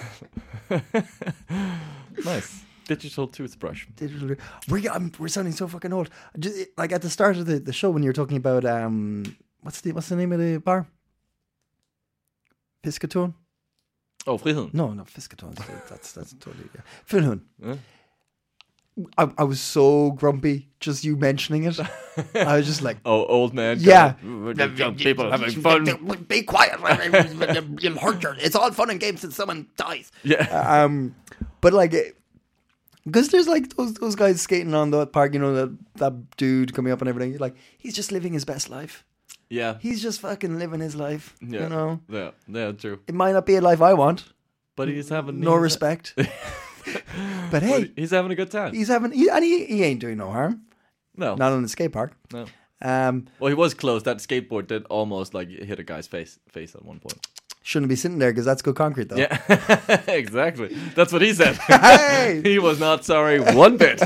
Nice. Digital toothbrush. digital. We're I'm, we're sounding so fucking old. Just, like at the start of the, the show when you were talking about um what's the what's the name of the bar? Piscaton? Oh, Friheden. No, not Piscaton. That's that's totally yeah. Friheden. Yeah. I, I was so grumpy just you mentioning it. I was just like, Oh, old man. Yeah. Young people having fun. Be quiet. You'll hurt your. It's all fun and games until someone dies. Yeah. Um, but like, because there's like those those guys skating on the park, you know, that that dude coming up and everything. You're like, he's just living his best life. Yeah. He's just fucking living his life. Yeah. You know, Yeah. Yeah. True. it might not be a life I want. But he's having No he's- respect. But but hey, he's having a good time. he's having, he, and he, he ain't doing no harm. No. Not on the skate park. No. Um, Well, he was close. That skateboard did almost like hit a guy's face face at one point. shouldn't be sitting there because that's good concrete, though. Yeah, exactly. That's what he said. Hey! He was not sorry one bit.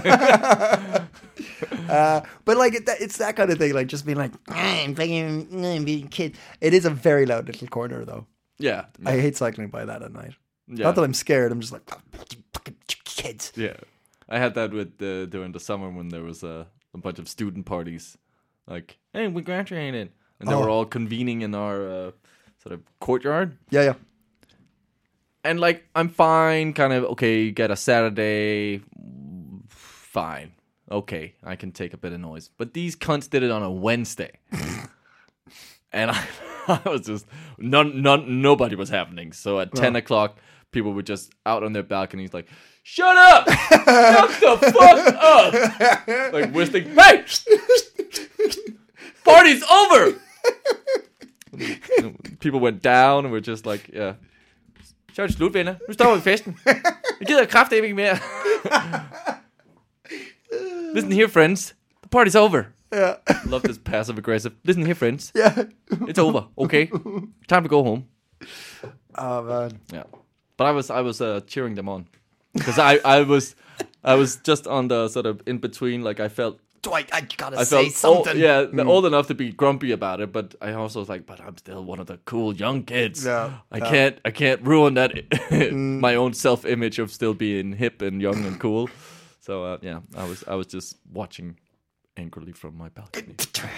Uh, but like it, that, it's that kind of thing, like just being like, I'm fucking I'm being kid. It is a very loud little corner, though. yeah. I hate cycling by that at night. Yeah. Not that I'm scared. I'm just like, oh, fucking kids. Yeah. I had that with uh, during the summer when there was a, a bunch of student parties. Like, hey, we graduated. And they Oh. were all convening in our uh, sort of courtyard. Yeah, yeah. And like, I'm fine, kind of, okay, you get a Saturday, fine. Okay, I can take a bit of noise. But these cunts did it on a Wednesday. And I, I was just, none, none, nobody was happening. So at ten o'clock, people were just out on their balconies like, shut up! Shut the fuck up! Like whistling, hey! Party's over! People went down and were just like, yeah. Så er det slut, venner. Nu står vi festen. Jeg gider kraftedeme ikke mere. Listen here, friends. The party's over. Yeah. Love this passive aggressive. Listen here, friends. Yeah. It's over. Okay. Time to go home. Oh, man. Yeah. But I was I was uh, cheering them on because I, I was I was just on the sort of in between. Like I felt Do I, I gotta I say felt something. Old, yeah, old enough to be grumpy about it, but I also was like, but I'm still one of the cool young kids. Yeah, I yeah. can't I can't ruin that my own self image of still being hip and young and cool. So uh, yeah, I was I was just watching angrily from my balcony.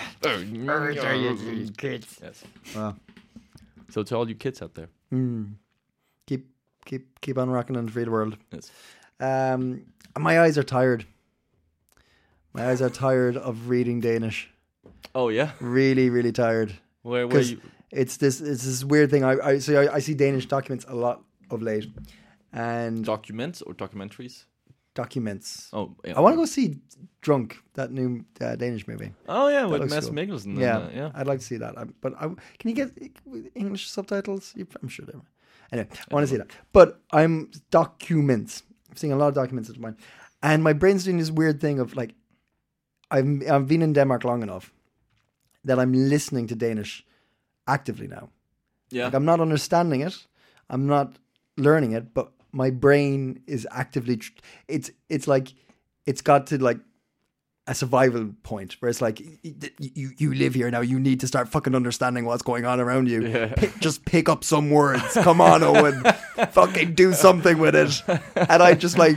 Kids. Yes. Wow. So to all you kids out there, Keep, keep, keep on rocking and free the world. yes. Um, my eyes are tired. My eyes are tired of reading Danish. Oh yeah, Really, really tired. where where Because you? it's this, it's this weird thing. I, I so I, I see Danish documents a lot of late, and Documents or documentaries? documents. Oh, yeah. I want to go see Drunk, that new uh, Danish movie. Oh yeah, with looks Mads cool. Mikkelsen. Yeah, and, uh, yeah. I'd like to see that. I, but I, can you get English subtitles? You- I'm sure there. are. Anyway, I want to see that. But I'm documents. I'm seeing a lot of documents at mine, and my brain's doing this weird thing of like, I've I've been in Denmark long enough that I'm listening to Danish actively now. Yeah. Like I'm not understanding it, I'm not learning it, but my brain is actively. Tr- it's it's like it's got to like a survival point where it's like y- you you live here now. You need to start fucking understanding what's going on around you. Yeah. Pick, just pick up some words. Come on, Owen. Fucking do something with it. And I just like.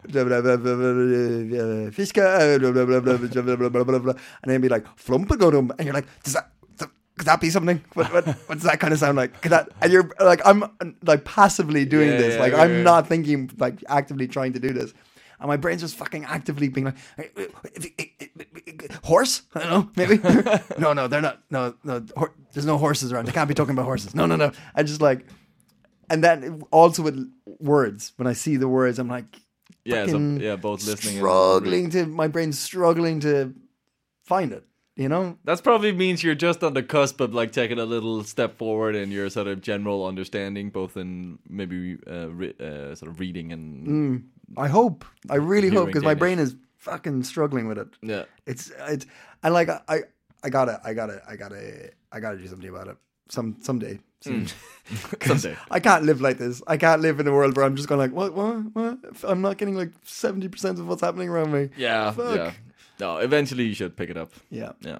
Fisker, and then be like flumpagodum, and you're like, does that could that be something? What, what what does that kind of sound like? Could that? And you're like, I'm like passively doing Yeah, this, yeah, like yeah, I'm yeah. not thinking, like actively trying to do this, and my brain's just fucking actively being like, horse? I don't know, maybe. no, no, they're not. No, no, hor- there's no horses around. They can't be talking about horses. No, no, no. I just like, and then also with words, when I see the words, I'm like, Yeah, so, fucking yeah, both listening and struggling to my brain's struggling to find it. You know, That probably means you're just on the cusp of like taking a little step forward in your sort of general understanding, both in maybe uh, re- uh, sort of reading and I hope. I really hope Hearing because my Danish. brain is fucking struggling with it. yeah, It's it's and like I I gotta I gotta I gotta I gotta do something about it. Some someday. Soon. someday. I can't live like this. I can't live in a world where I'm just going like what what what. I'm not getting like seventy percent of what's happening around me. Yeah, Fuck. yeah. No, eventually you should pick it up. Yeah. Yeah,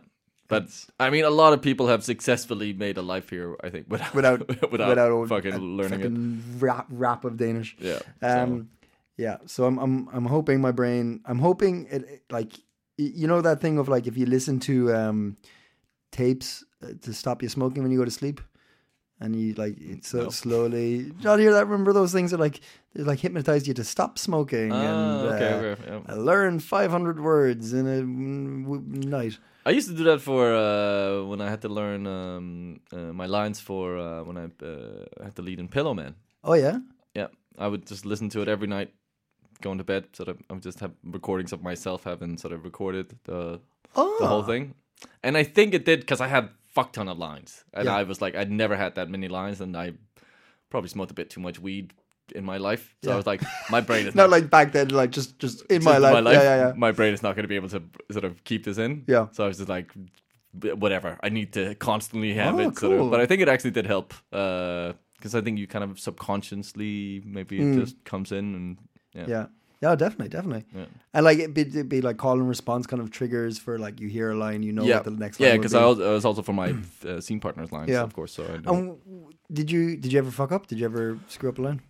But I mean, a lot of people have successfully made a life here. I think without without without, without old, fucking learning fucking it. Rap, rap of Danish. Yeah. Um. So. Yeah. So I'm I'm I'm hoping my brain. I'm hoping it like you know that thing of like if you listen to um tapes uh, to stop you smoking when you go to sleep. And you like it so no. slowly. Not hear that. Remember those things that like they like hypnotize you to stop smoking. Ah, and okay, uh, okay, yeah. I learned five hundred words in a mm, w- night. I used to do that for uh, when I had to learn um, uh, my lines for uh, when I uh, had to lead in Pillow Man. Oh yeah. Yeah, I would just listen to it every night, going to bed. Sort of, I would just have recordings of myself having sort of recorded the Oh. the whole thing. And I think it did because I had fuck ton of lines, and Yeah. I was like, I'd never had that many lines, and I probably smoked a bit too much weed in my life. So Yeah. I was like, my brain is Not like back then, like just just in just my life. my life. Yeah, yeah, yeah. My brain is not going to be able to sort of keep this in. Yeah. So I was just like, whatever. I need to constantly have Oh, it. Sort of. cool. But I think it actually did help because I think you kind of subconsciously maybe it just comes in and yeah. Mm. Yeah. Yeah, definitely, definitely. Yeah. And like it'd be, it'd be like call and response kind of triggers for like you hear a line, you know Yeah, what the next line yeah, will because be. I was, I was also for my uh, scene partner's lines, Yeah. of course. So I know. And did you did you ever fuck up? Did you ever screw up a line?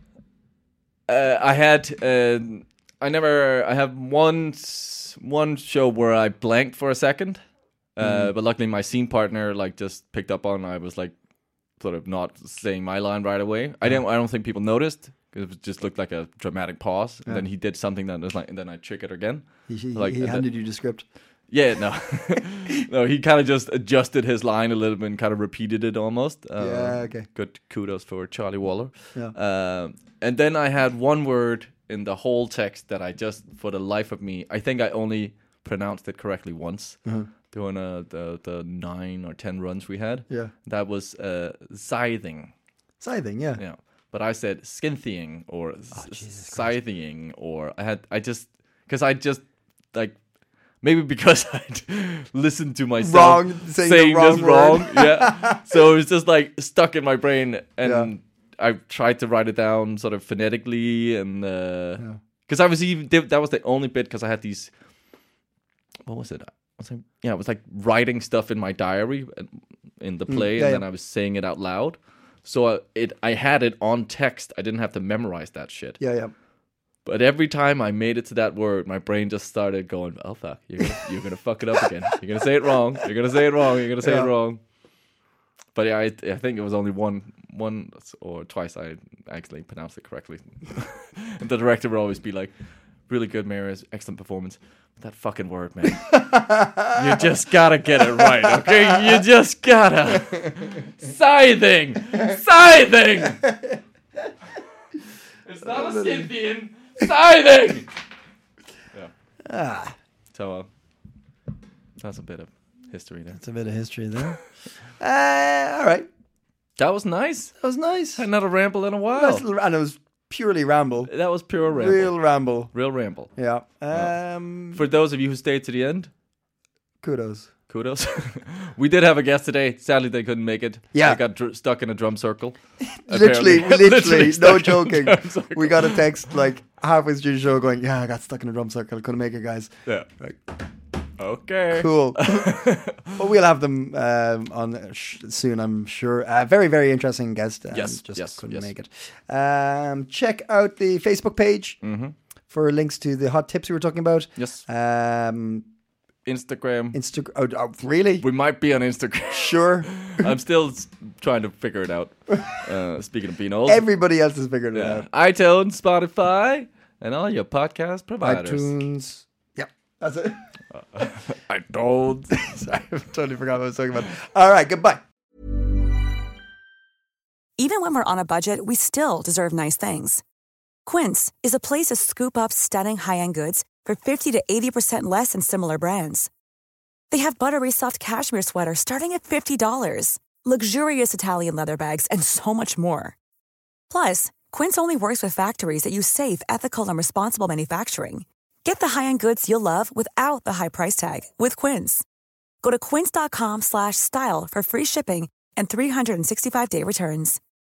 Uh, I had, uh, I never, I have one s- one show where I blanked for a second, uh, Mm-hmm. but luckily my scene partner like just picked up on. I was like, sort of not saying my line right away. I didn't. I don't think people noticed because it just looked like a dramatic pause. And then he did something that was like, and then I triggered again. He, he, Like, he and handed then- you the script. Yeah, no, no. He kind of just adjusted his line a little bit and kind of repeated it almost. Uh, Yeah, okay. Good kudos for Charlie Waller. Yeah. Um, and then I had one word in the whole text that I just, for the life of me, I think I only pronounced it correctly once Uh-huh. during uh, the the nine or ten runs we had. Yeah. That was uh, scything. Scything, yeah. Yeah. But I said skinthying or Oh, s- scything or I had I just because I just like. Maybe because I'd listened to myself Wrong, saying the saying wrong this word. wrong. Yeah. So it was just like stuck in my brain. And Yeah. I tried to write it down sort of phonetically. And because uh, I was even, that was the only bit because I had these, what was it? I was like, yeah, it was like writing stuff in my diary in the play. yeah, and then yeah. I was saying it out loud. So uh, it, I had it on text. I didn't have to memorize that shit. Yeah, yeah. But every time I made it to that word, my brain just started going, "Oh fuck, you're gonna, you're gonna fuck it up again. You're gonna say it wrong. You're gonna say it wrong. You're gonna say Yeah. it wrong." But yeah, I, I think it was only one, one or twice I actually pronounced it correctly. And the director would always be like, "Really good, Marius, excellent performance." But that fucking word, man, you just gotta get it right, okay? You just gotta scything, scything. It's not a Scythian. Scything! Yeah. Ah, So, uh, that's a bit of history there. it's a bit of history there. uh, all right. That was nice. That was nice. Had not a ramble in a while. Nice little, and it was purely ramble. That was pure ramble. Real ramble. Real ramble. Yeah. Um, For those of you who stayed to the end, kudos. kudos. We did have a guest today. Sadly, they couldn't make it. Yeah. They got dr- stuck in a drum circle. Literally, Apparently. literally, no stuck in a joking. drum circle. We got a text like halfway through the show going, "Yeah, I got stuck in a drum circle. Couldn't make it, guys." Yeah. Like, Okay. cool. But we'll have them um, on sh- soon, I'm sure. Uh, very, very interesting guest. Um, Yes, just yes, couldn't yes. make it. Um, check out the Facebook page for links to the hot tips we were talking about. Yes. Um, Instagram. Instagram. Oh, oh, really? We might be on Instagram. Sure. I'm still s- trying to figure it out. Uh, speaking of being old. Everybody else has figured it yeah. out. iTunes, Spotify, and all your podcast providers. iTunes. Yep, that's it. I don't. Sorry, I totally forgot what I was talking about. All right, goodbye. Even when we're on a budget, we still deserve nice things. Quince is a place to scoop up stunning high-end goods for fifty to eighty percent less than similar brands. They have buttery soft cashmere sweaters starting at fifty dollars, luxurious Italian leather bags, and so much more. Plus, Quince only works with factories that use safe, ethical, and responsible manufacturing. Get the high-end goods you'll love without the high price tag with Quince. Go to quince.com slash style for free shipping and three sixty-five day returns.